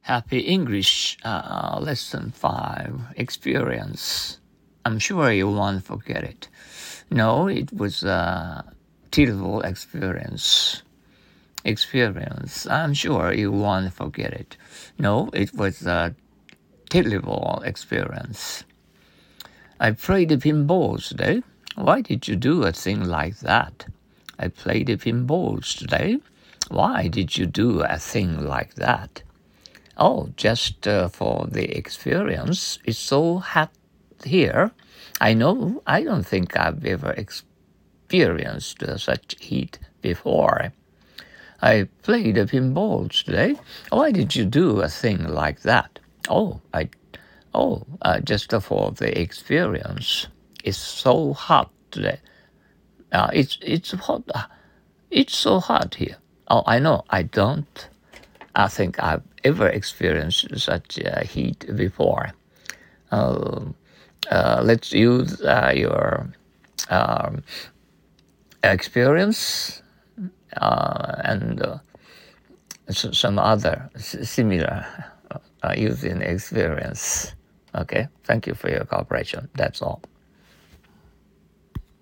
Happy English, Lesson 5, Experience. I'm sure you won't forget it. No, it was a terrible experience. I'm sure you won't forget it. No, it was a terrible experience. I played the pinball today. Why did you do a thing like that? I played the pinball today. Why did you do a thing like that? Oh, just for the experience. It's so hot here. I know. I don't think I've ever experienced such heat before. I played a pinball today. Why did you do a thing like that? Just for the experience. It's so hot today. It's hot. It's so hot here. Oh, I know. I think I've ever experienced such heat before. Let's use your experience and some other similar using experience. Okay, thank you for your cooperation. That's all.